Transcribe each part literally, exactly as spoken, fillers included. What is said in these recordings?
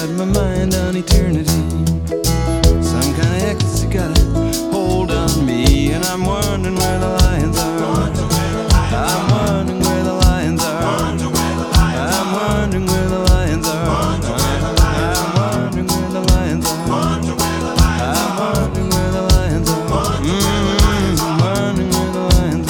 got my mind on eternity. Some kind of ecstasy got a hold on me, and I'm wondering where the lions are. I'm wondering where the lions are. I'm wondering where the lions are. I'm wondering where the lions are. I'm wondering where the lions are. Mm, I'm wondering where the lions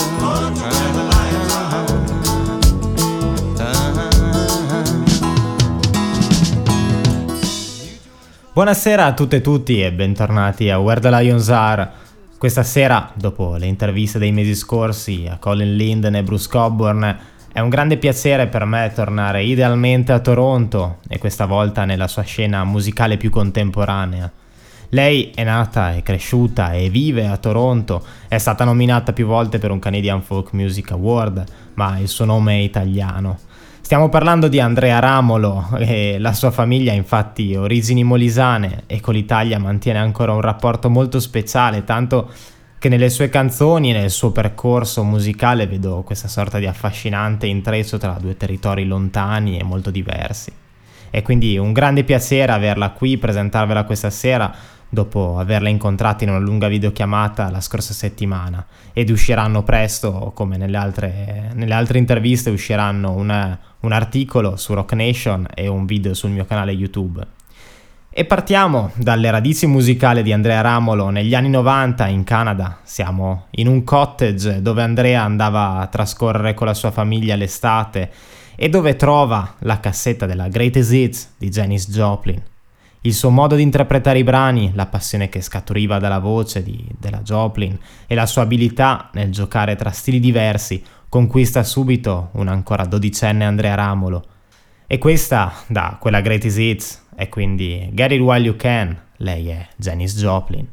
are. Buonasera a tutte e tutti e bentornati a Where the Lions Are. Questa sera, dopo le interviste dei mesi scorsi a Colin Linden e Bruce Cockburn, è un grande piacere per me tornare idealmente a Toronto e questa volta nella sua scena musicale più contemporanea. Lei è nata, è cresciuta e vive a Toronto, è stata nominata più volte per un Canadian Folk Music Award, ma il suo nome è italiano. Stiamo parlando di Andrea Ramolo e la sua famiglia ha infatti origini molisane e con l'Italia mantiene ancora un rapporto molto speciale, tanto che nelle sue canzoni e nel suo percorso musicale vedo questa sorta di affascinante intreccio tra due territori lontani e molto diversi. È quindi un grande piacere averla qui, presentarvela questa sera dopo averla incontrata in una lunga videochiamata la scorsa settimana, ed usciranno presto, come nelle altre, nelle altre interviste, usciranno una, un articolo su Rock Nation e un video sul mio canale YouTube. E partiamo dalle radici musicali di Andrea Ramolo negli anni novanta in Canada. Siamo in un cottage dove Andrea andava a trascorrere con la sua famiglia l'estate e dove trova la cassetta della Greatest Hits di Janis Joplin. Il suo modo di interpretare i brani, la passione che scaturiva dalla voce di, della Joplin e la sua abilità nel giocare tra stili diversi conquista subito un ancora dodicenne Andrea Ramolo. E questa, da quella Greatest Hits, è quindi Get It While You Can. Lei è Janis Joplin.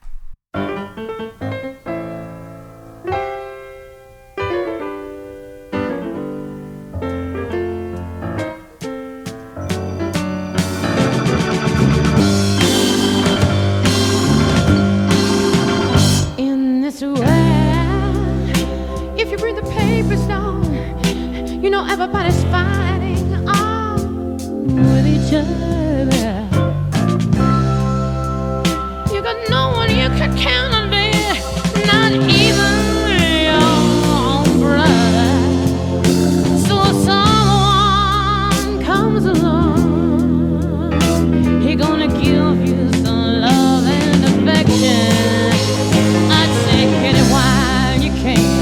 Everybody's fighting on with each other. You got no one you can count on there, not even your own brother. So if someone comes along, he gonna give you some love and affection. I'd say get it while you can.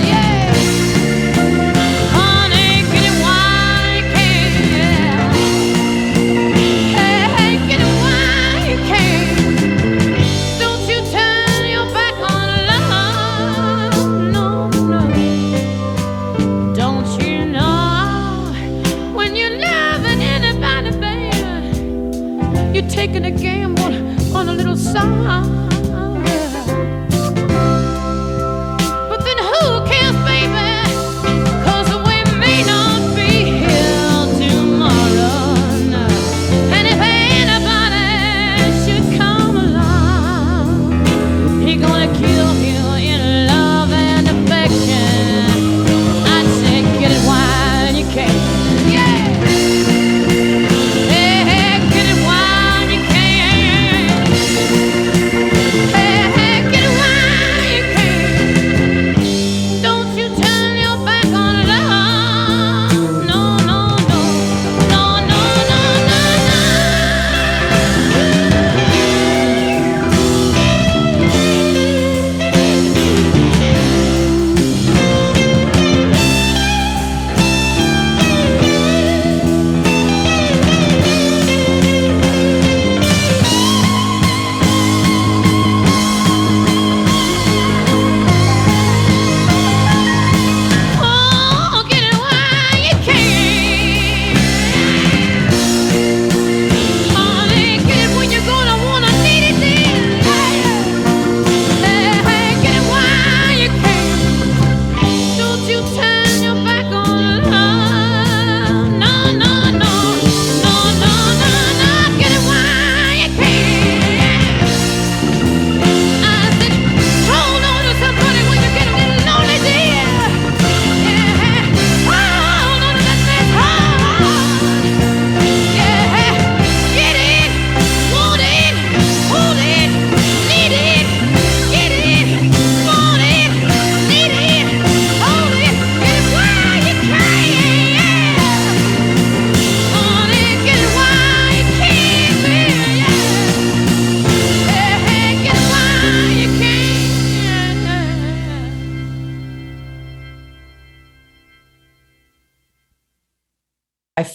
Taking a gamble on a little song. But then who cares, baby? 'Cause we may not be here tomorrow. No. And if anybody should come along, he gonna kill you in love and affection. I'd say get it while you can. Yeah. Hey, hey, get it while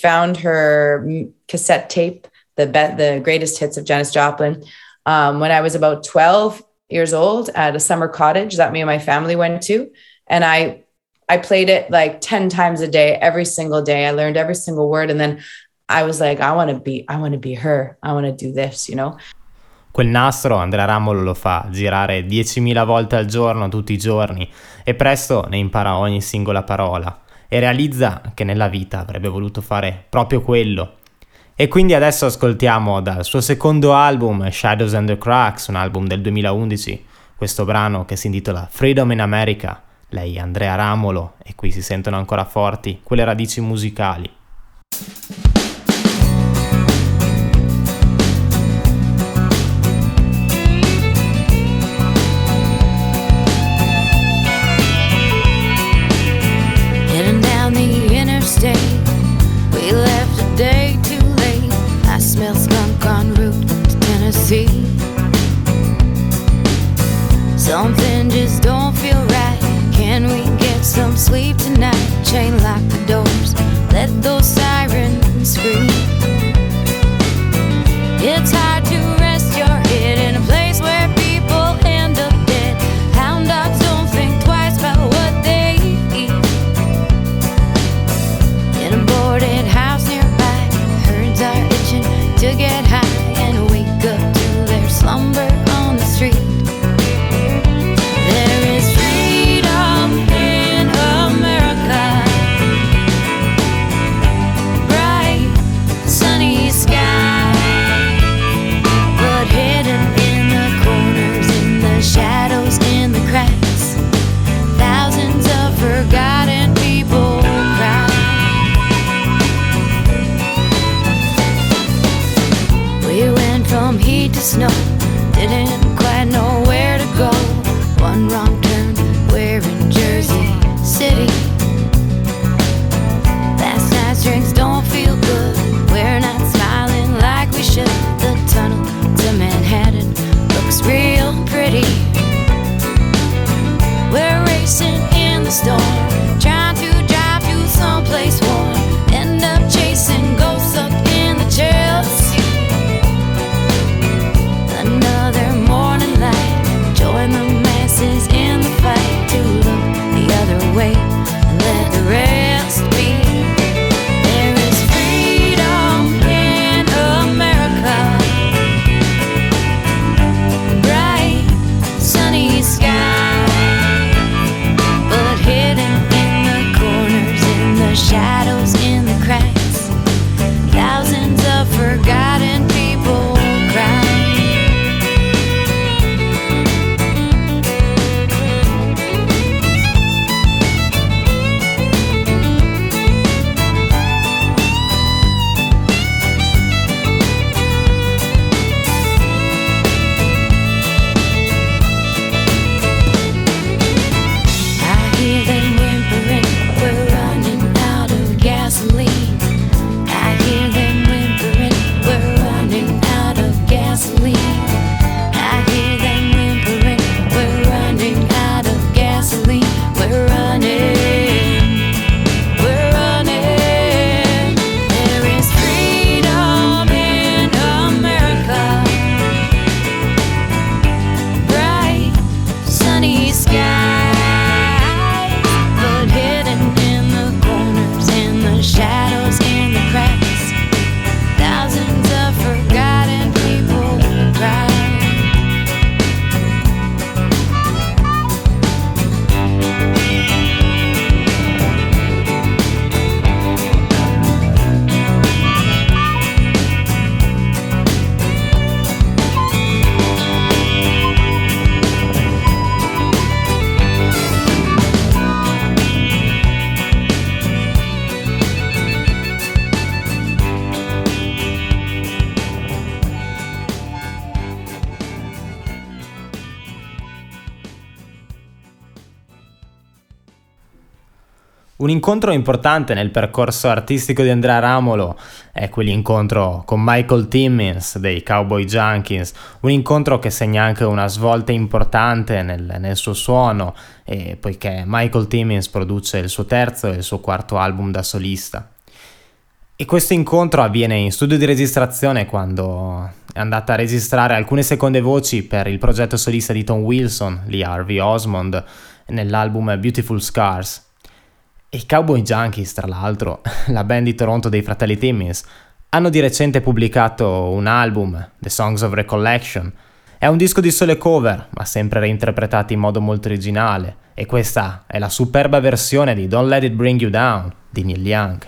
found her mm, cassette tape, the be- the greatest hits of Janis Joplin, um, when I was about twelve years old at a summer cottage that me and my family went to. And I I played it like ten times a day, every single day. I learned every single word. And then I was like, I want to be, I want to be her. I want to do this, you know? Quel nastro Andrea Ramolo lo fa girare diecimila volte al giorno, tutti i giorni, e presto ne impara ogni singola parola e realizza che nella vita avrebbe voluto fare proprio quello. E quindi adesso ascoltiamo dal suo secondo album, Shadows and the Cracks, un album del duemilaundici, questo brano che si intitola Freedom in America. Lei è Andrea Ramolo e qui si sentono ancora forti quelle radici musicali. Heading down the interstate, we left a day too late. I smell skunk en route to Tennessee. Something just don't feel right. Can we get some sleep tonight? Chain lock the doors, let those sirens scream. It's hard to rest your head in a place where people end up dead. Hound dogs don't think twice about what they eat. In a boarded house nearby, herds are itching to get high and wake up to their slumber on the street. There is freedom in America, bright sunny sky, but hidden in the corners, in the shadows, in the cracks, thousands of forgotten people cry. We went from heat to snow, didn't quite know where to go. One wrong turn, we're in Jersey City. Last night's drinks don't feel good, we're not smiling like we should. The tunnel to Manhattan looks real pretty. We're racing in the storm, trying to drive to someplace warm. End up chasing ghosts up in the Chelsea. Another morning light, join the masses in the fight to look the other way and let the rest be. There is freedom in America, bright sunny sky, but hidden in the corners, in the shadows, in the cracks, thousands of forgotten people cry. I hear them whimpering, we're running out of gasoline. I hear them whimpering, we're running out of gasoline. I hear them whimpering, we're running out of gasoline. We're running, we're running. There is freedom in America, bright sunny skies, but hidden in the corners, in the shadows, in the cracks, thousands of forgotten people cry. Un incontro importante nel percorso artistico di Andrea Ramolo è quell'incontro con Michael Timmins dei Cowboy Junkies, un incontro che segna anche una svolta importante nel, nel suo suono, e poiché Michael Timmins produce il suo terzo e il suo quarto album da solista. E questo incontro avviene in studio di registrazione quando è andata a registrare alcune seconde voci per il progetto solista di Tom Wilson, Lee Harvey Osmond, nell'album Beautiful Scars. E i Cowboy Junkies, tra l'altro, la band di Toronto dei fratelli Timmins, hanno di recente pubblicato un album, The Songs of Recollection. È un disco di sole cover, ma sempre reinterpretati in modo molto originale, e questa è la superba versione di Don't Let It Bring You Down di Neil Young.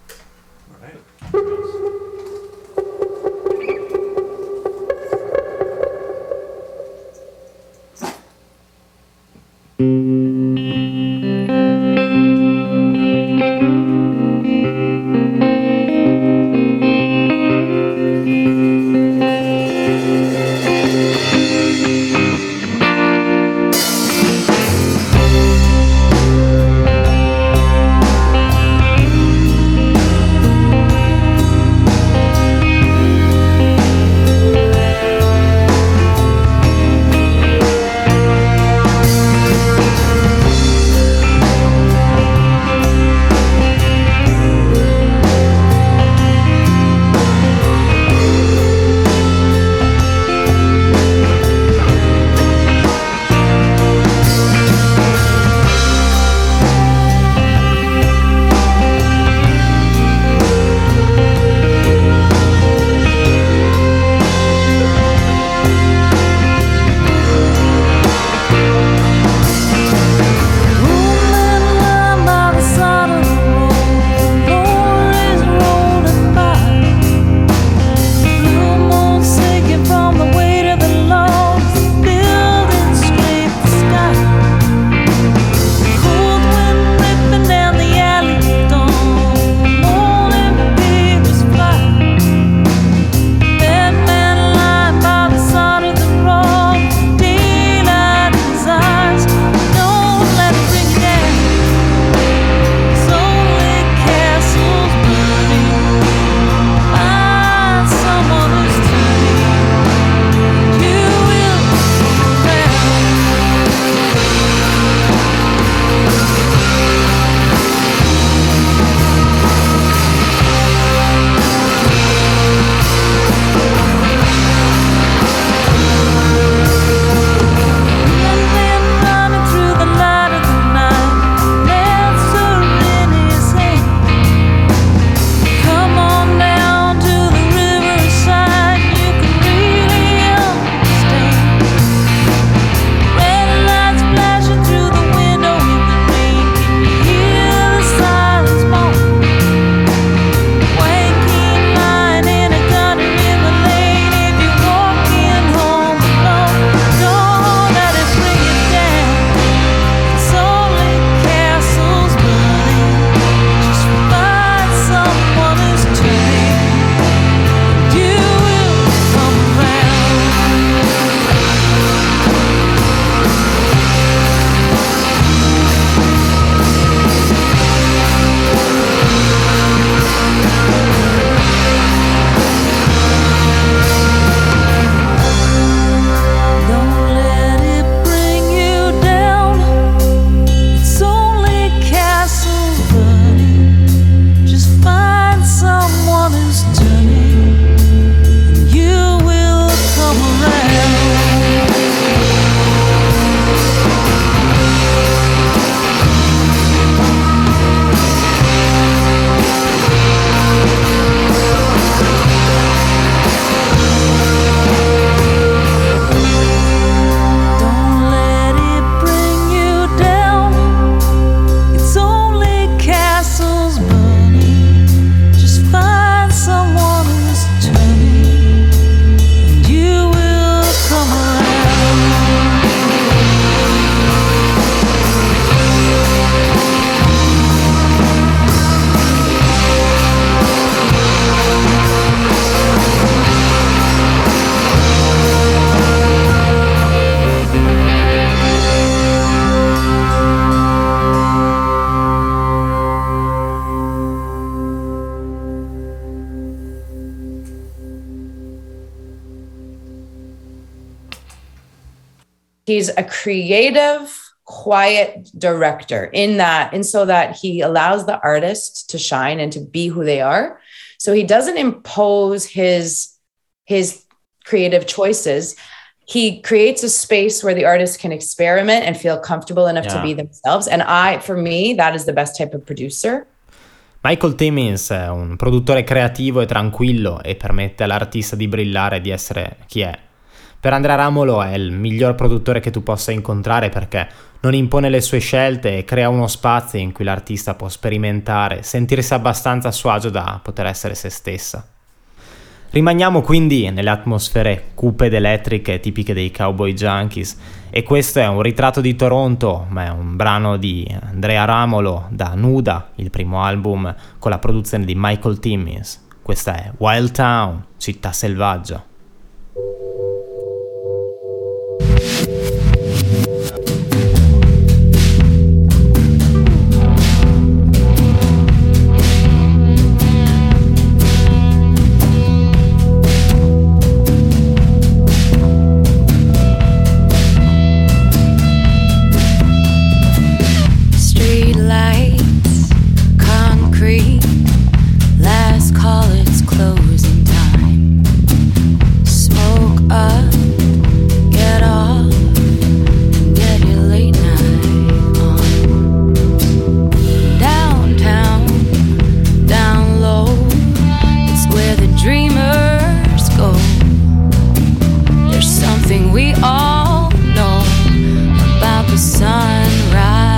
he's a creative, quiet director in that, and so that he allows the artist to shine and to be who they are. So he doesn't impose his his creative choices. He creates a space where the artist can experiment and feel comfortable enough Yeah. to be themselves. And I, for me, that is the best type of producer. Michael Timmins è un produttore creativo e tranquillo e permette all'artista di brillare e di essere chi è. Per Andrea Ramolo è il miglior produttore che tu possa incontrare perché non impone le sue scelte e crea uno spazio in cui l'artista può sperimentare, sentirsi abbastanza a suo agio da poter essere se stessa. Rimaniamo quindi nelle atmosfere cupe ed elettriche tipiche dei Cowboy Junkies e questo è un ritratto di Toronto, ma è un brano di Andrea Ramolo da Nuda, il primo album con la produzione di Michael Timmins. Questa è Wild Town, città selvaggia. Last call, it's closing time. Smoke up, get off, and get your late night on. Downtown, down low, it's where the dreamers go. There's something we all know about the sunrise.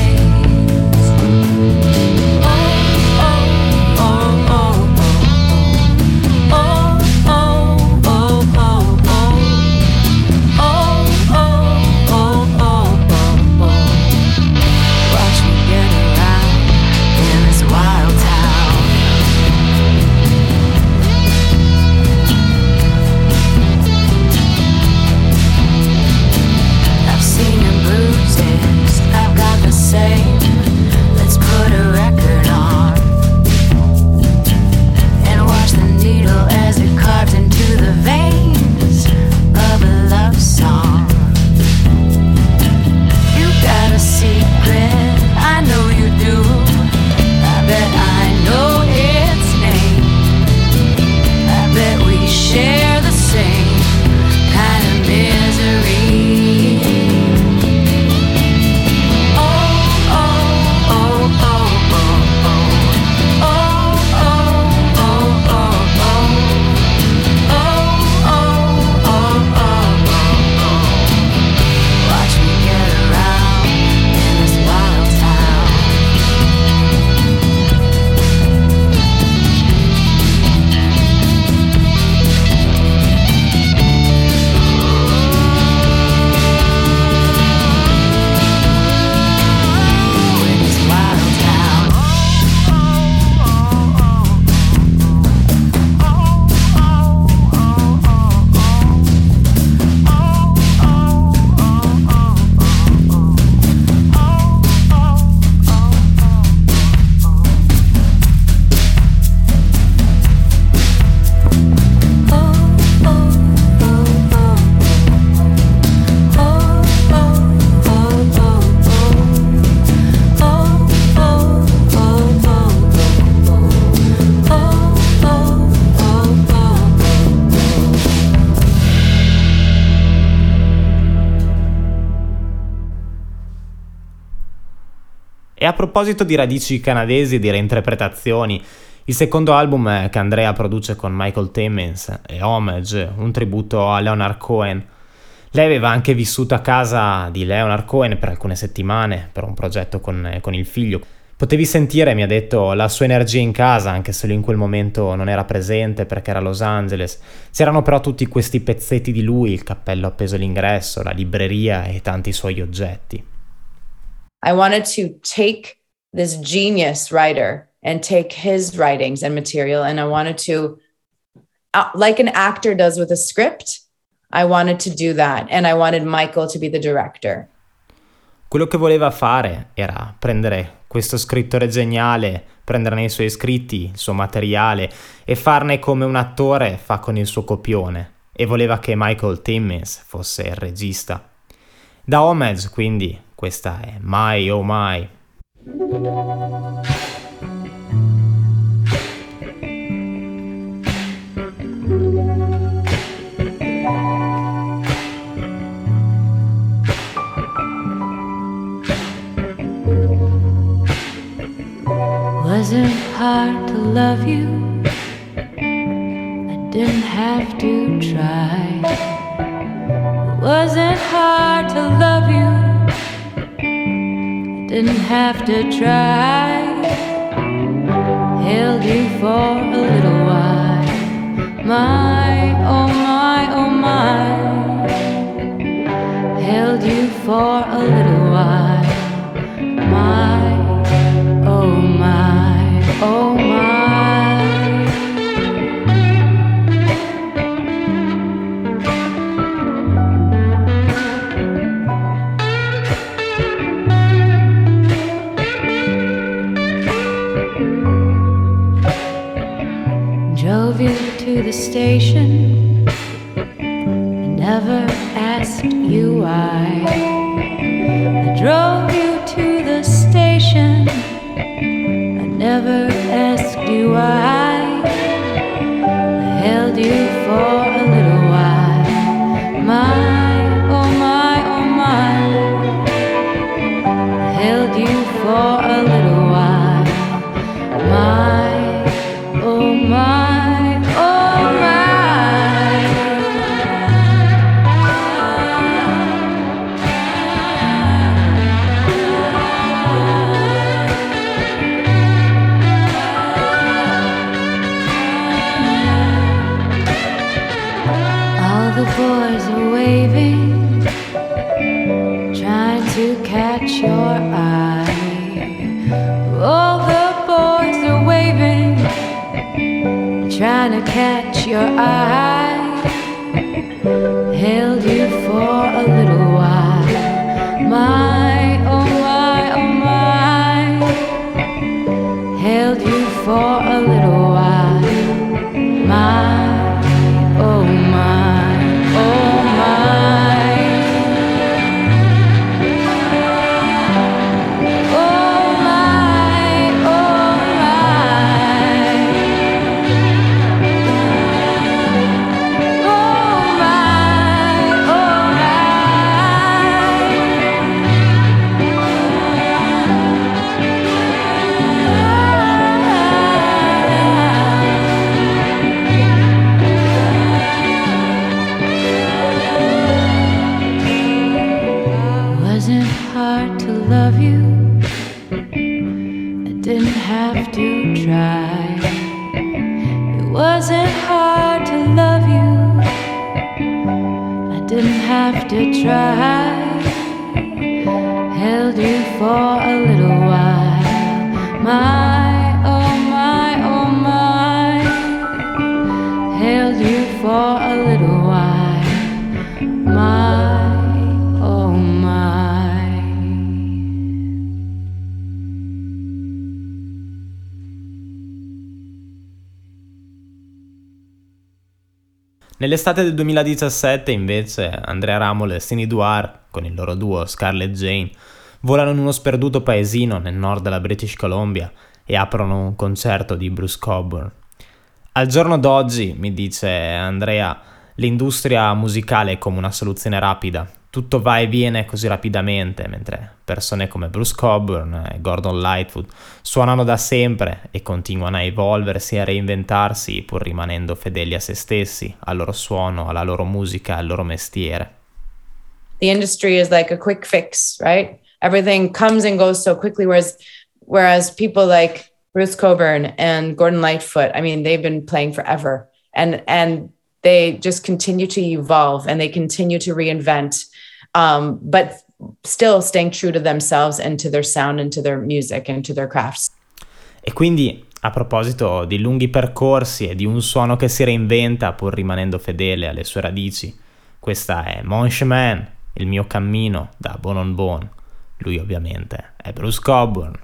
E a proposito di radici canadesi e di reinterpretazioni, il secondo album che Andrea produce con Michael Timmins è Homage, un tributo a Leonard Cohen. Lei aveva anche vissuto a casa di Leonard Cohen per alcune settimane per un progetto con, con il figlio. Potevi sentire, mi ha detto, la sua energia in casa, anche se lui in quel momento non era presente perché era a Los Angeles. C'erano però tutti questi pezzetti di lui, il cappello appeso all'ingresso, la libreria e tanti suoi oggetti. I wanted to take this genius writer and take his writings and material, and I wanted to, uh, like an actor does with a script, I wanted to do that, and I wanted Michael to be the director. Quello che voleva fare era prendere questo scrittore geniale, prenderne i suoi scritti, il suo materiale e farne come un attore fa con il suo copione, e voleva che Michael Timmins fosse il regista. Da Homage, quindi, questa è My Oh My. love you. I didn't have to try. It wasn't hard to love you. I didn't have to try. Held you for a little while. My, oh my, oh my. Held you for a little while. My, oh my, oh my. Drove you to the station. I never asked you why. I drove you to the station. I never asked you why. I held you for a little while. My, oh my, oh my. I held you for a little while. My, oh my, oh my. All the boys are waving, trying to catch your eye. All the boys are waving, trying to catch your eye. Held you for a little while. My, oh my, oh my. Held you for a little while. My, oh my, oh my. Oh my, oh my. Oh my, oh Wasn't hard to love you. I didn't have to try. It wasn't hard to love you. I didn't have to try. Held you for a little while. My, oh my, oh my. Held you for a little while. My, oh my. Nell'estate del duemiladiciassette, invece, Andrea Ramol e Sini Duar, con il loro duo Scarlett Jane, volano in uno sperduto paesino nel nord della British Columbia e aprono un concerto di Bruce Cockburn. Al giorno d'oggi, mi dice Andrea, l'industria musicale è come una soluzione rapida. Tutto va e viene così rapidamente, mentre persone come Bruce Cockburn e Gordon Lightfoot suonano da sempre e continuano a evolversi e a reinventarsi pur rimanendo fedeli a se stessi, al loro suono, alla loro musica, al loro mestiere. The industry is like a quick fix, right? Everything comes and goes so quickly, whereas whereas people like Bruce Cockburn and Gordon Lightfoot, I mean, they've been playing forever, and and they just continue to evolve and they continue to reinvent, um, but still staying true to themselves and to their sound and to their music and to their crafts. E quindi, a proposito di lunghi percorsi e di un suono che si reinventa pur rimanendo fedele alle sue radici, questa è Mon Chemin, il mio cammino da Bone on Bone. Lui ovviamente è Bruce Cockburn.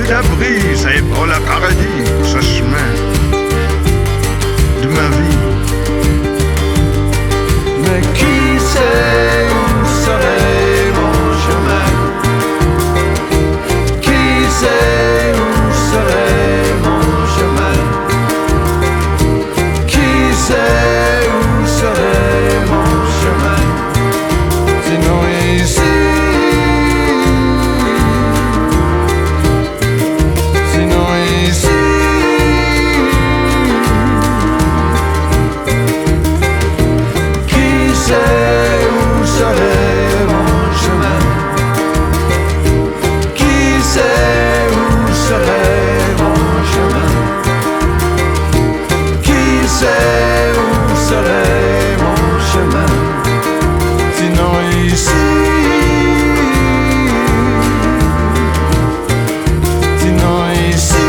la brise et pour le paradis, ce chemin de ma vie. Mais qui sait où serait mon chemin? Qui sait où serait mon chemin? Qui sait où serait mon chemin? Sinon ici, sinon ici. Qui sait où serait mon chemin? Qui sait où serait mon chemin? Qui sait où serait mon chemin? Sinon ici, sinon ici.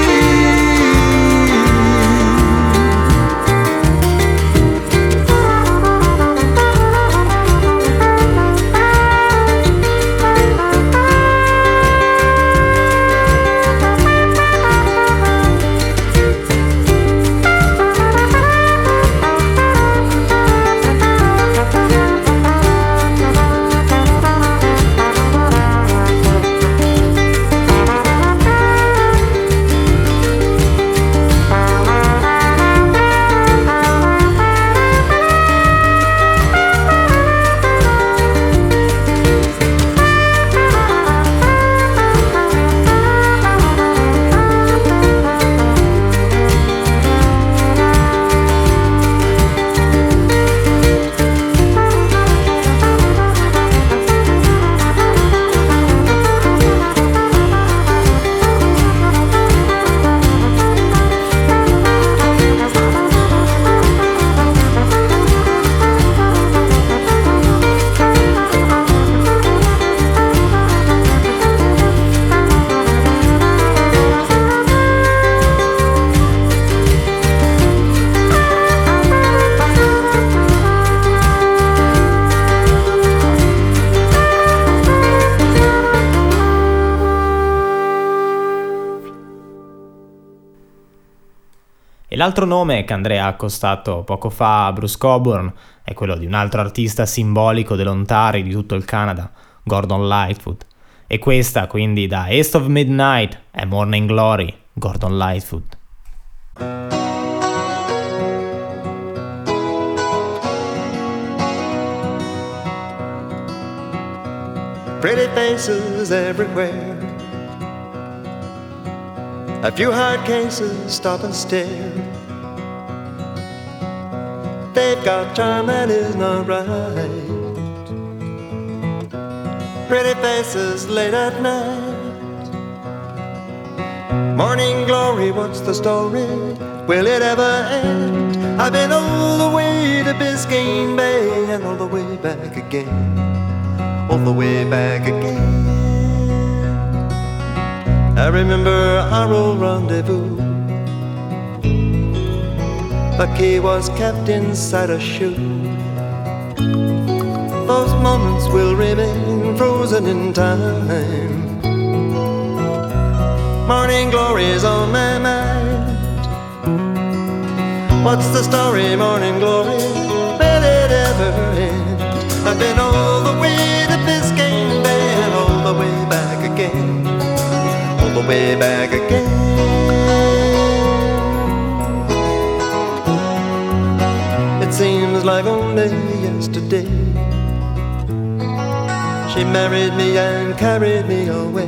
E l'altro nome che Andrea ha accostato poco fa a Bruce Cockburn è quello di un altro artista simbolico dell'Ontario di tutto il Canada, Gordon Lightfoot. E questa quindi da East of Midnight è Morning Glory, Gordon Lightfoot. Pretty faces everywhere. A few hard cases stop and stare. They've got charm that is not right. Pretty faces late at night. Morning glory, what's the story? Will it ever end? I've been all the way to Biscayne Bay and all the way back again. All the way back again. I remember our old rendezvous. The key was kept inside a shoe. Those moments will remain frozen in time. Morning glory is on my mind. What's the story, morning glory? Will it ever end? I've been all the way to Biscayne Bay and all the way back again. All the way back again. It seems like only yesterday she married me and carried me away.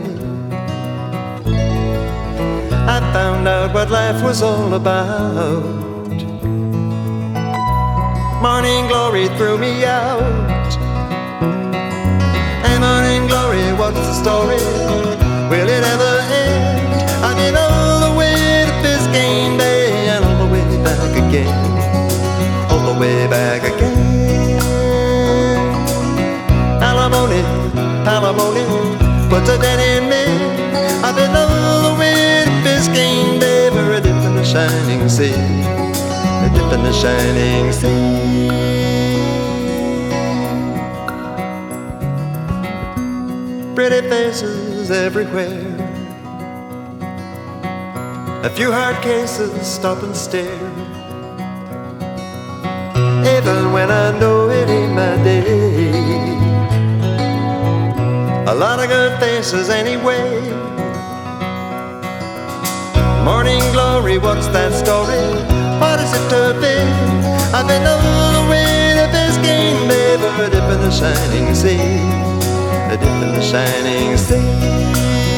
I found out what life was all about. Morning glory threw me out. And morning glory, what's the story? Will it ever end? I've been all the way to Biscayne Bay and all the way back again. All the way back again. Alimony, alimony, what's a dead in me? I've been all the way to Biscayne Bay for a dip in the shining sea. A dip in the shining sea. Pretty faces everywhere. A few hard cases stop and stare, even when I know it ain't my day. A lot of good faces anyway. Morning glory, what's that story? What is it to be? I've been all the way to Biscayne Bay for a dip in the shining sea, a dip in the shining sea.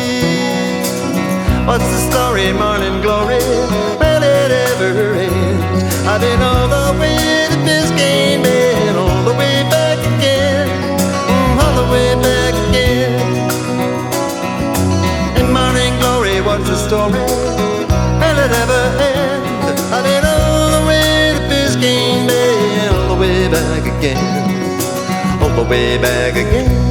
What's the story, morning glory? Will it ever end? I've been all the way to Biscayne Bay and all the way back again, all the way back again. And morning glory, what's the story? Will it ever end? I've been all the way to Biscayne Bay and all the way back again, all the way back again.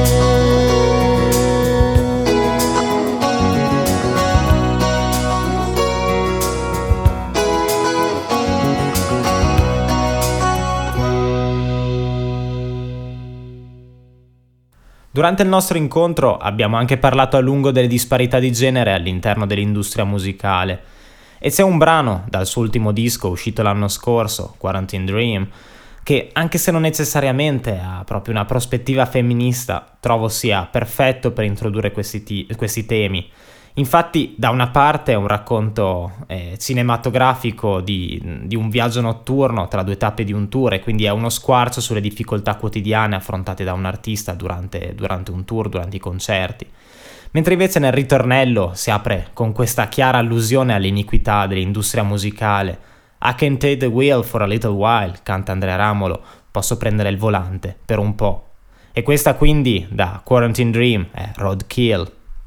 Durante il nostro incontro abbiamo anche parlato a lungo delle disparità di genere all'interno dell'industria musicale, e c'è un brano dal suo ultimo disco uscito l'anno scorso, Quarantine Dream, che anche se non necessariamente ha proprio una prospettiva femminista, trovo sia perfetto per introdurre questi, ti- questi temi. Infatti, da una parte è un racconto eh, cinematografico di, di un viaggio notturno tra due tappe di un tour, e quindi è uno squarcio sulle difficoltà quotidiane affrontate da un artista durante, durante un tour, durante i concerti. Mentre invece nel ritornello si apre con questa chiara allusione all'iniquità dell'industria musicale. I can take the wheel for a little while, canta Andrea Ramolo, posso prendere il volante per un po'. E questa quindi, da Quarantine Dream, è Roadkill.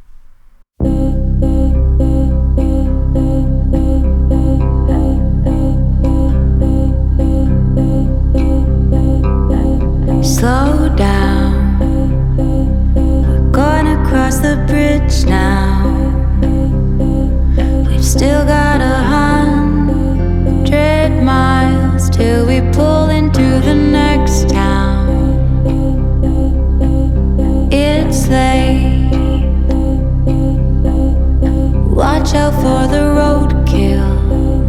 Slow down, we're gonna cross the bridge now. We've still got a hundred miles till we pull into the next town. It's late, watch out for the roadkill.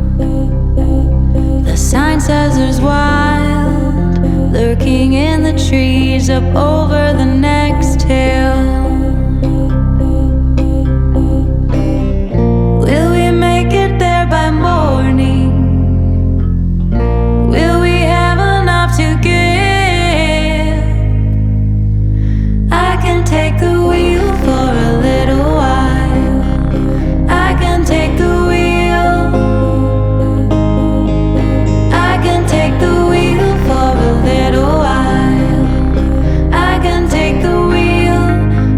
The sign says there's wild lurking in the trees up over the next hill. Will we make it there by morning? Will we have enough to give? I can take the wheel for a little while. I can take the wheel. I can take the wheel for a little while. I can take the wheel.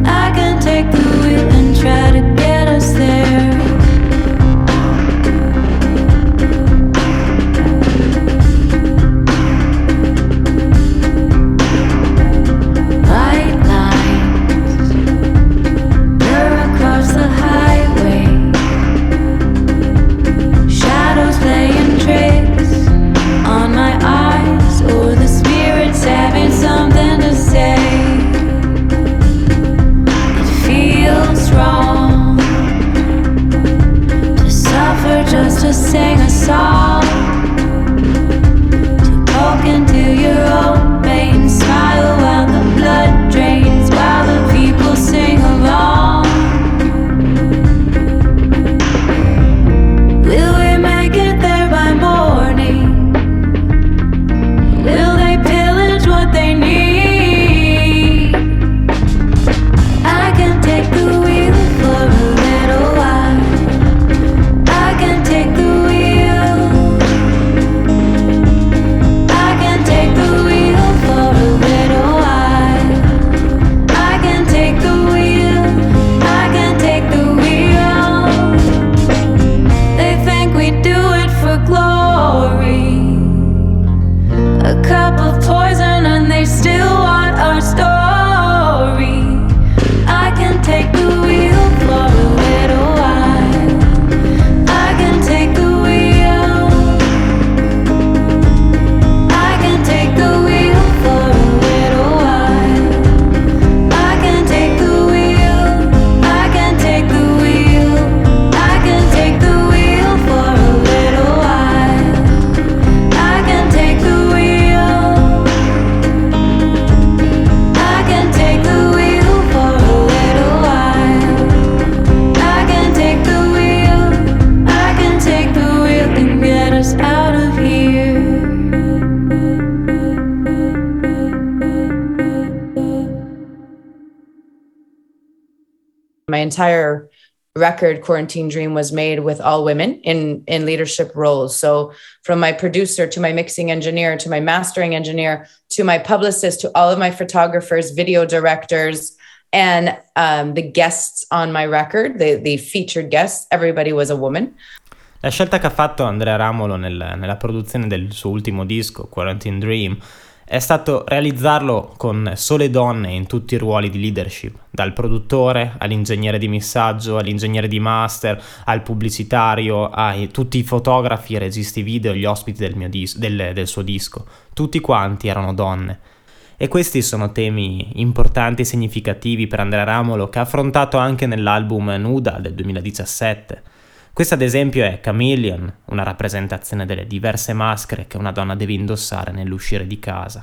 My entire record, Quarantine Dream, was made with all women in, in leadership roles. So from my producer to my mixing engineer to my mastering engineer to my publicist to all of my photographers, video directors, and um, the guests on my record, the, the featured guests, everybody was a woman. La scelta che ha fatto Andrea Ramolo nel, nella produzione del suo ultimo disco, Quarantine Dream, è stato realizzarlo con sole donne in tutti i ruoli di leadership, dal produttore all'ingegnere di missaggio, all'ingegnere di master, al pubblicitario, a tutti i fotografi, i registi video, gli ospiti del, mio dis- del, del suo disco. Tutti quanti erano donne. E questi sono temi importanti e significativi per Andrea Ramolo, che ha affrontato anche nell'album Nuda del duemiladiciassette. Questa ad esempio è Chameleon, una rappresentazione delle diverse maschere che una donna deve indossare nell'uscire di casa.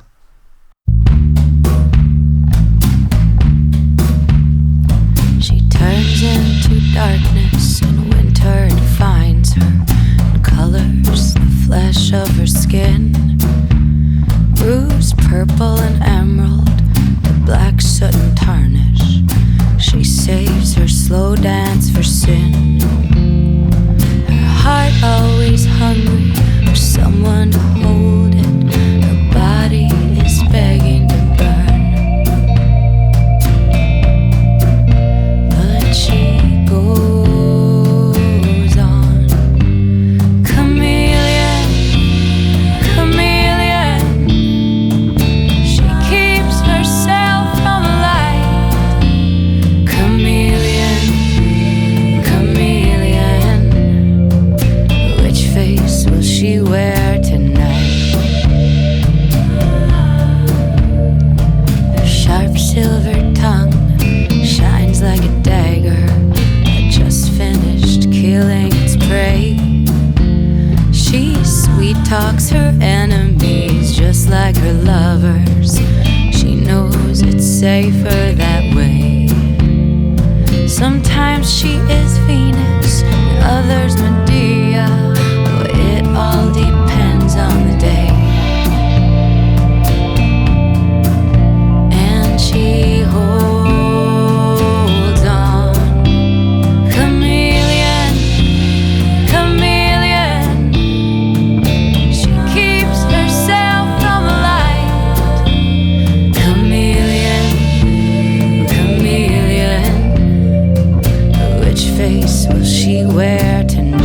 She turns into darkness and winter defines her and colors the flesh of her skin. Bruised purple and emerald, the black soot and tarnish. She saves her slow dance for sin. Heart always hungry for someone to hold it. Her body is begging to burn, but she goes on. Chameleon, chameleon, she keeps herself from the light. Chameleon, chameleon, which face will she wear tonight? Her sharp silver tongue shines like a dagger that just finished killing its prey. She sweet talks her enemies just like her lovers. She knows it's safer that way. Sometimes she is Venus, and others Medea. But it all depends on the day. And she holds on. Chameleon, chameleon, she keeps herself from the light. Chameleon, chameleon, which face will she wear tonight?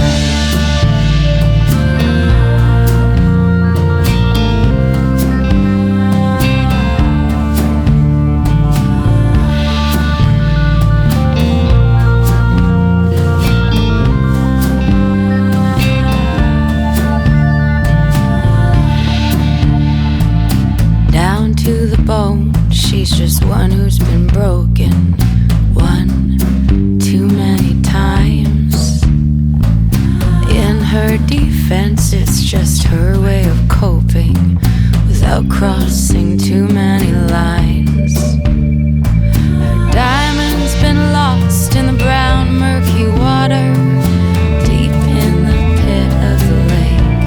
Down to the bone, she's just one who's been broken one too many times. In her defense, it's just her way of coping without crossing too many lines. Her diamond's been lost in the brown, murky water, deep in the pit of the lake.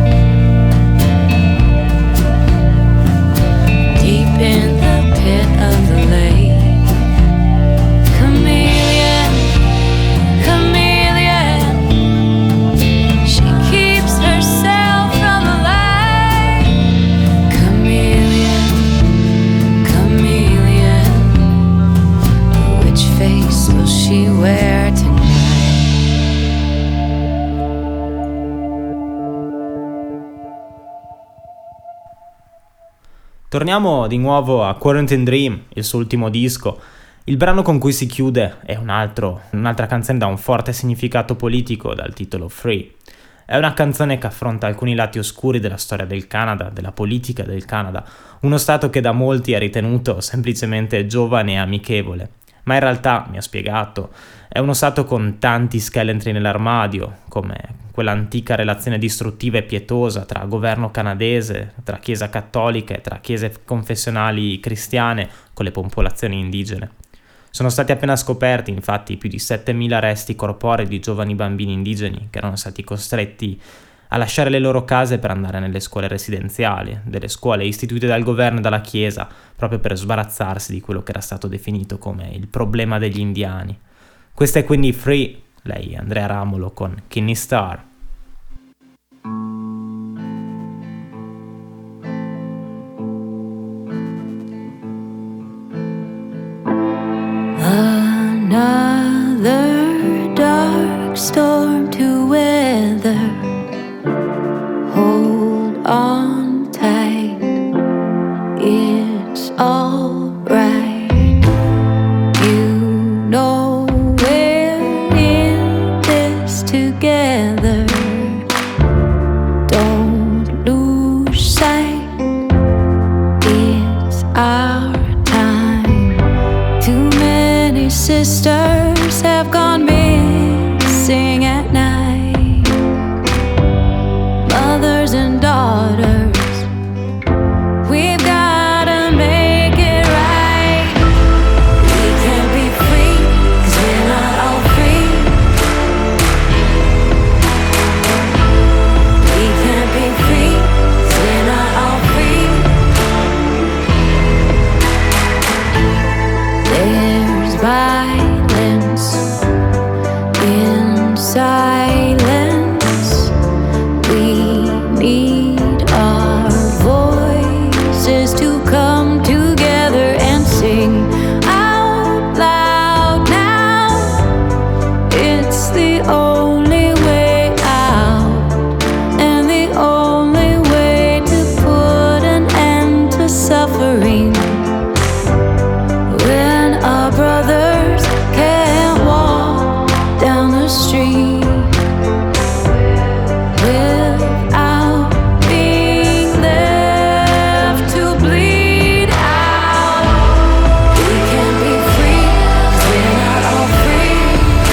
Deep in the pit of the lake. Chameleon, chameleon, she keeps herself from the light. Chameleon, chameleon, which face will she wear tonight? Torniamo di nuovo a Quarantine Dream, il suo ultimo disco. Il brano con cui si chiude è un altro, un'altra canzone da un forte significato politico dal titolo Free. È una canzone che affronta alcuni lati oscuri della storia del Canada, della politica del Canada, uno stato che da molti è ritenuto semplicemente giovane e amichevole. Ma in realtà, mi ha spiegato, è uno stato con tanti scheletri nell'armadio, come quell'antica relazione distruttiva e pietosa tra governo canadese, tra chiesa cattolica e tra chiese confessionali cristiane con le popolazioni indigene. Sono stati appena scoperti, infatti, più di settemila resti corporei di giovani bambini indigeni che erano stati costretti a lasciare le loro case per andare nelle scuole residenziali, delle scuole istituite dal governo e dalla chiesa, proprio per sbarazzarsi di quello che era stato definito come il problema degli indiani. Questa è quindi Free, lei Andrea Ramulo con Kinney Star. Another dark storm to weather. Hold on tight, it's all right. You know we're in this together. Don't lose sight, it's our time. Too many sisters have gone missing at night. Mothers and daughters, we've gotta make it right. We can't be free, 'cause we're not all free. We can't be free, 'cause we're not all free. There's violence in silence. We need our voices to come together and sing out loud now. It's the only way out, and the only way to put an end to suffering. When our brothers can't walk down the street without being left to bleed out. We can't be free, 'cause we're not all free.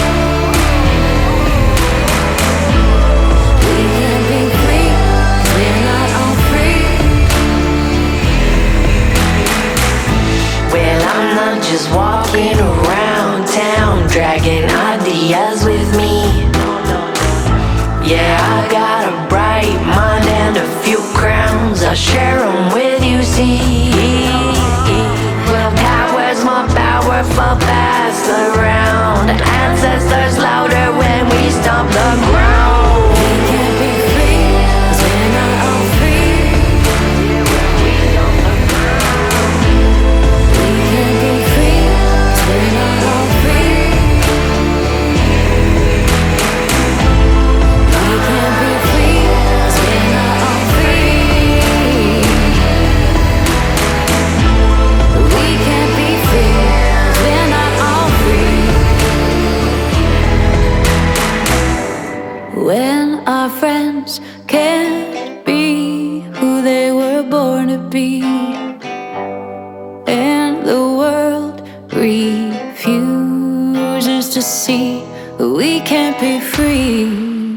We can't be free, 'cause we're not all free. Well, I'm not just walking around town dragging ideas with me. Yeah, I got a bright mind and a few crowns. I'll share them with you, see. Well, power's more powerful, pass around. Ancestors louder when we stomp the ground. We can't be free, 'cause we're not all free. We can't be free, 'cause we're not all free. We can't be free, 'cause we're not all free. We can't be free, 'cause we're not all free. When our friends can't be who they were born to be, and the world refuses to see, we can't be free.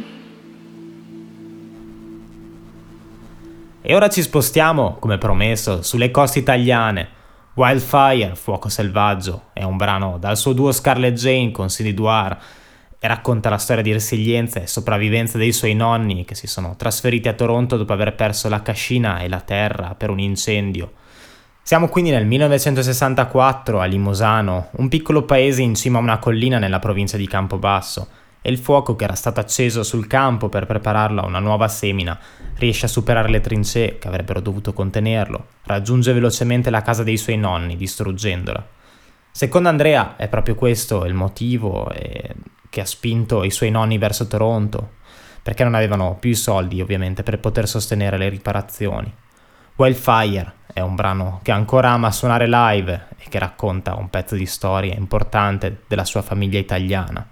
E ora ci spostiamo, come promesso, sulle coste italiane. Wildfire, Fuoco Selvaggio, è un brano dal suo duo Scarlett Jane con Cindy Dwyer e racconta la storia di resilienza e sopravvivenza dei suoi nonni che si sono trasferiti a Toronto dopo aver perso la cascina e la terra per un incendio. Siamo quindi nel millenovecentosessantaquattro a Limosano, un piccolo paese in cima a una collina nella provincia di Campobasso, e il fuoco che era stato acceso sul campo per prepararlo a una nuova semina riesce a superare le trincee che avrebbero dovuto contenerlo, raggiunge velocemente la casa dei suoi nonni distruggendola. Secondo Andrea è proprio questo il motivo eh, che ha spinto i suoi nonni verso Toronto, perché non avevano più i soldi ovviamente per poter sostenere le riparazioni. Wildfire è un brano che ancora ama suonare live e che racconta un pezzo di storia importante della sua famiglia italiana.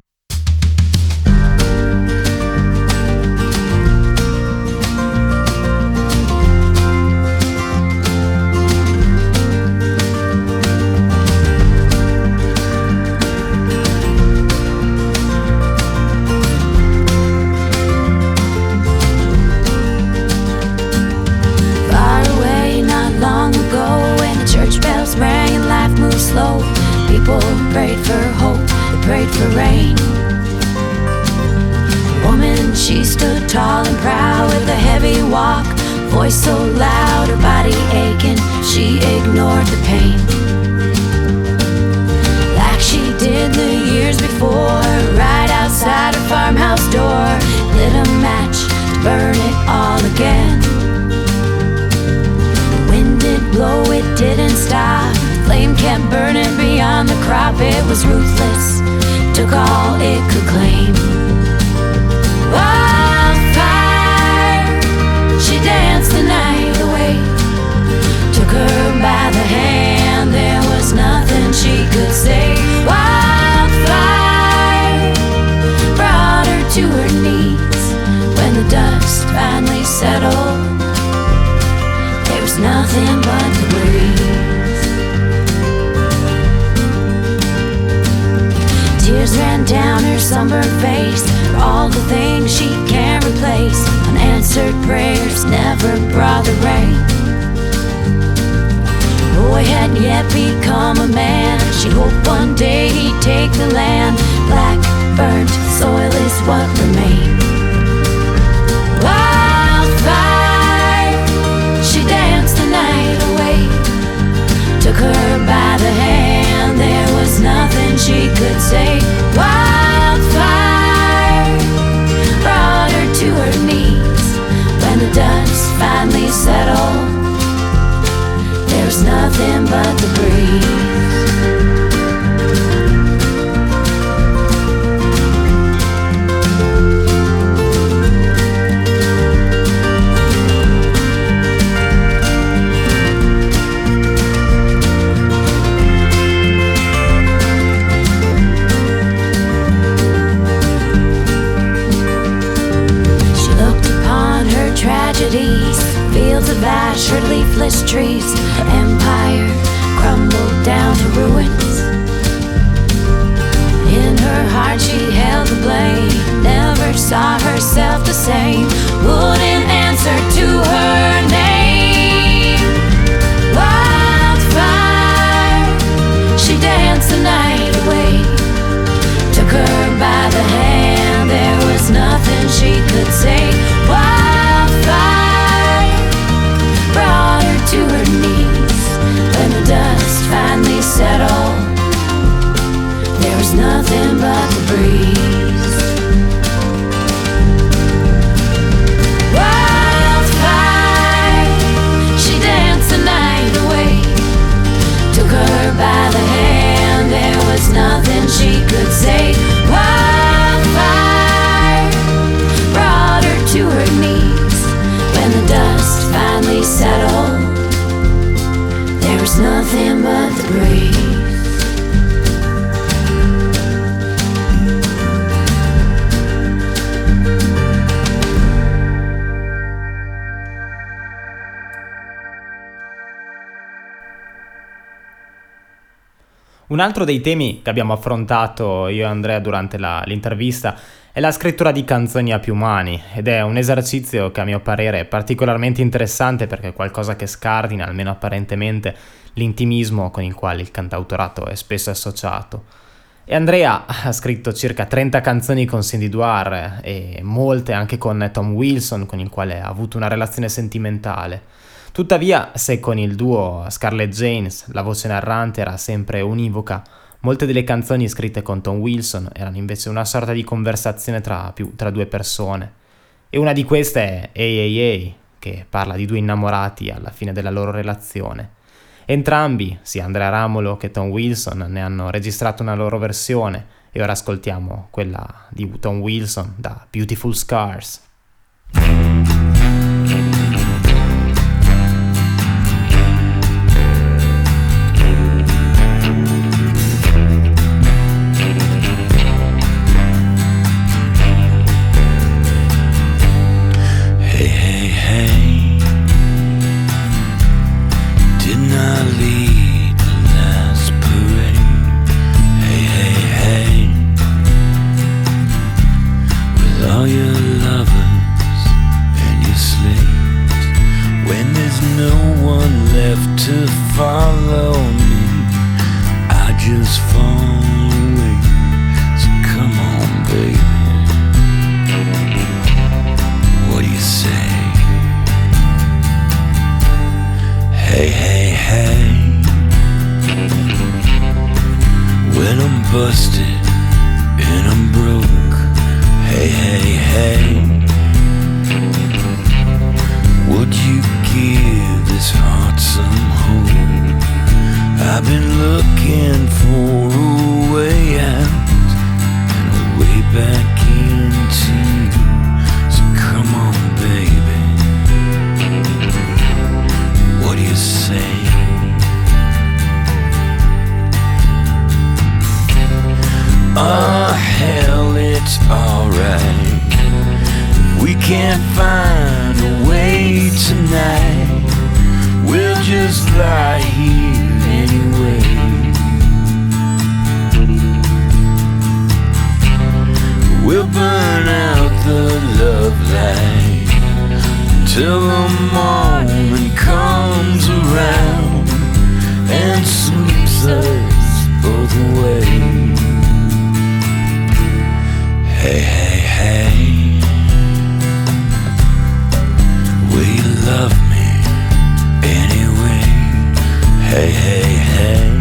Slow. People prayed for hope, they prayed for rain. Woman, she stood tall and proud with a heavy walk, voice so loud, her body aching, she ignored the pain. Like she did the years before. before, right outside her farmhouse door. Lit a match to burn it all again. The wind did blow, it didn't stop. Flame kept burning beyond the crop. It was ruthless, took all it could claim. Wildfire, she danced the night away. Took her by the hand, there was nothing she could say. Wildfire brought her to her knees. When the dust finally settled, there was nothing but the breeze. Tears ran down her sunburned face for all the things she can't replace. Unanswered prayers never brought the rain. The boy hadn't yet become a man. She hoped one day he'd take the land. Black, burnt soil is what remained. Wildfire, she danced the night away. Took her by the hand, there was nothing she could say. Wildfire brought her to her knees. When the dust finally settled, there was nothing but the breeze. Fields of ash, her leafless trees. Her empire crumbled down to ruins. In her heart she held the blame. Never saw herself the same. Wouldn't answer to her name. Wildfire, she danced the night away. Took her by the hand, there was nothing she could say. Wildfire brought her to her knees. When the dust finally settled, there was nothing but the breeze. Wildfire, she danced the night away. Took her by the hand, there was nothing she could say. Wildfire brought her to her knees. When the dust finally settled, there was nothing but the breeze. Un altro dei temi che abbiamo affrontato io e Andrea durante la, l'intervista è la scrittura di canzoni a più mani, ed è un esercizio che a mio parere è particolarmente interessante perché è qualcosa che scardina, almeno apparentemente, l'intimismo con il quale il cantautorato è spesso associato. E Andrea ha scritto circa trenta canzoni con Cindy Douar e molte anche con Tom Wilson, con il quale ha avuto una relazione sentimentale. Tuttavia, se con il duo Scarlett Janes la voce narrante era sempre univoca, molte delle canzoni scritte con Tom Wilson erano invece una sorta di conversazione tra, più, tra due persone. E una di queste è Hey Hey Hey, che parla di due innamorati alla fine della loro relazione. Entrambi, sia Andrea Ramolo che Tom Wilson, ne hanno registrato una loro versione e ora ascoltiamo quella di Tom Wilson da Beautiful Scars. busted hey, would you give this heart some hope? I've been looking for a way out and a way back into you. So come on, baby, what do you say? Oh hell, it's alright. We can't find a way tonight. We'll just lie here anyway. We'll burn out the love light until the moment comes around and sweeps us both away. Hey, hey, hey, will you love me anyway? Hey, hey, hey,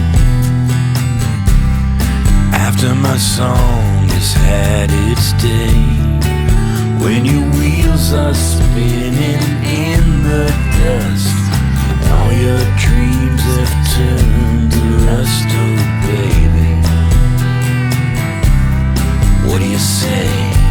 after my song has had its day, when your wheels are spinning in the dust, and all your dreams have turned to rust, oh baby, what do you say?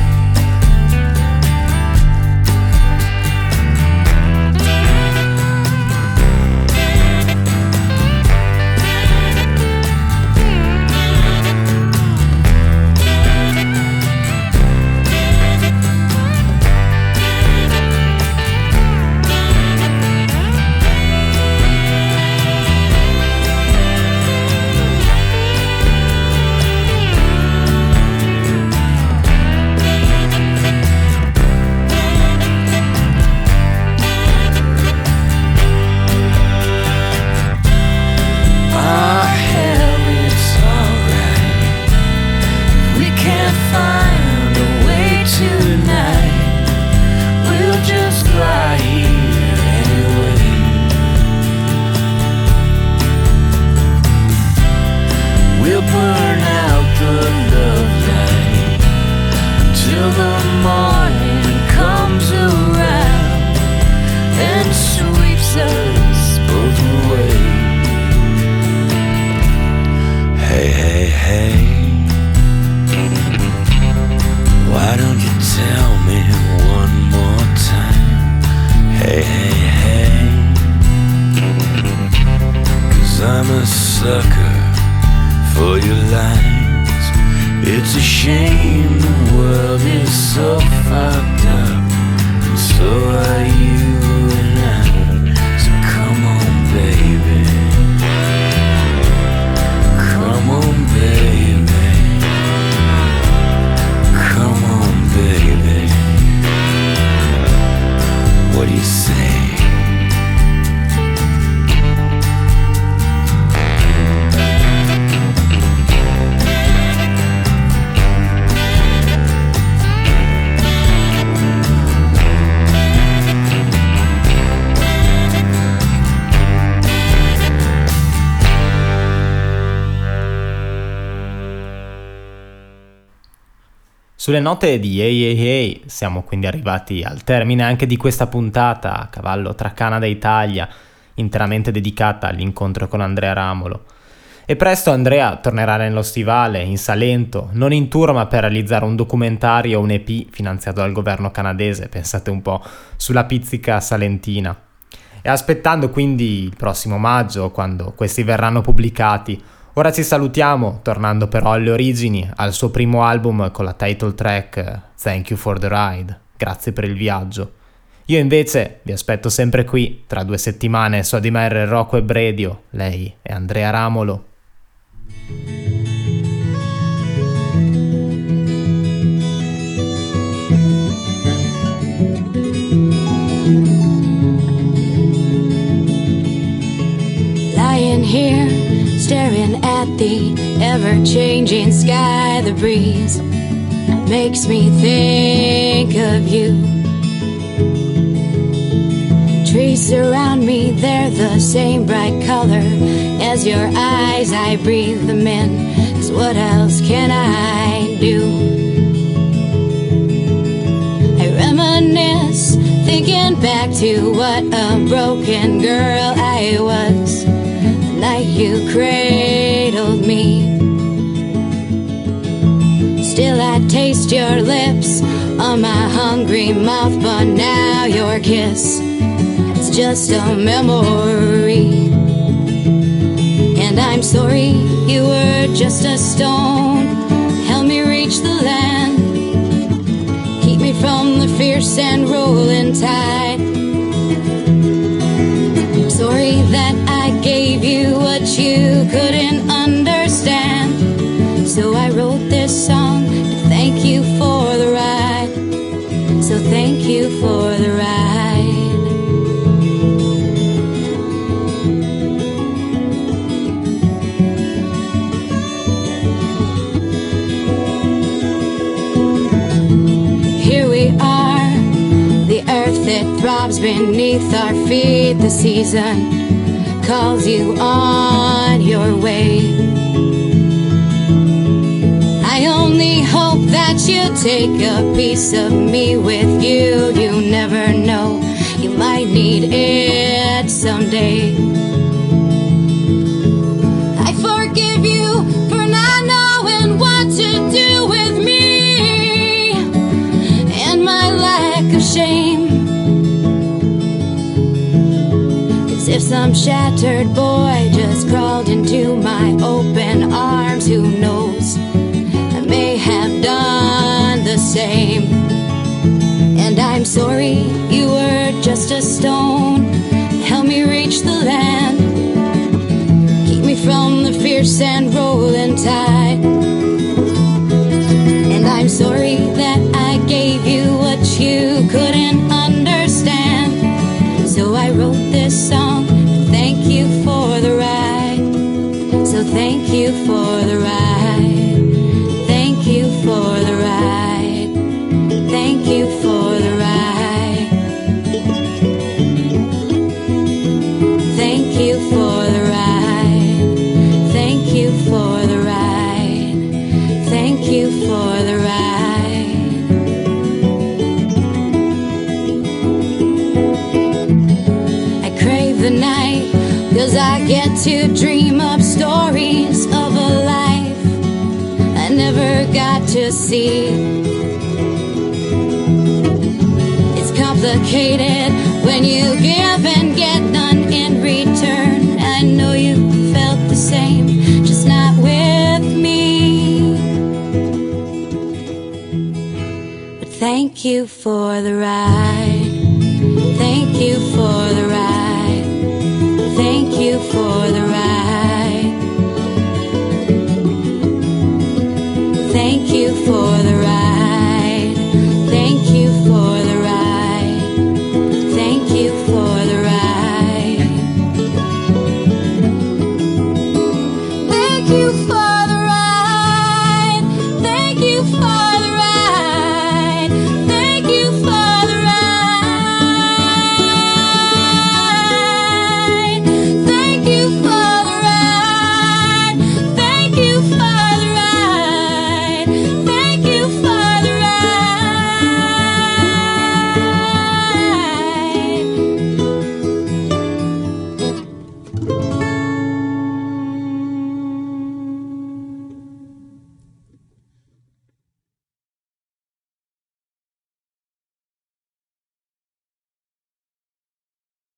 Sulle note di Hey Hey Hey siamo quindi arrivati al termine anche di questa puntata a cavallo tra Canada e Italia, interamente dedicata all'incontro con Andrea Ramolo. E presto Andrea tornerà nello stivale, in Salento, non in tour ma per realizzare un documentario o un E P finanziato dal governo canadese, pensate un po', sulla pizzica salentina. E aspettando quindi il prossimo maggio, quando questi verranno pubblicati, ora ci salutiamo, tornando però alle origini, al suo primo album con la title track Thank You for the Ride, grazie per il viaggio. Io invece vi aspetto sempre qui, tra due settimane su A D M R Rocco e Radio, lei è Andrea Ramolo. Lying here, staring at the ever-changing sky, the breeze makes me think of you. Trees surround me, they're the same bright color as your eyes. I breathe them in, 'cause what else can I do? back to what a broken girl I was the night you cradled me. Still I taste your lips on my hungry mouth, but now your kiss, it's just a memory. And I'm sorry you were just a stone, help me reach the land, keep me from the fierce and rolling tide. I'm sorry that I gave you what you couldn't understand, so I wrote this song to thank you for the ride. So thank you for the ride. That throbs beneath our feet. The season calls you on your way. I only hope that you take a piece of me with you. You never know, you might need it someday. I forgive you for not knowing what to do with me and my lack of shame. If some shattered boy just crawled into my open arms, who knows, I may have done the same. And I'm sorry you were just a stone, help me reach the land, keep me from the fierce and rolling tide. And I'm sorry that I gave you what you couldn't understand, so I wrote this song to thank you for the ride. So thank you for the ride. Thank you for the ride. Thank you for the ride. Thank you for the ride. Thank you for the ride. Thank you for the ride. The night, 'cause I get to dream up stories of a life I never got to see. It's complicated when you give and get none in return. I know you felt the same, just not with me. But thank you for the ride. Thank you for the ride. Thank you for the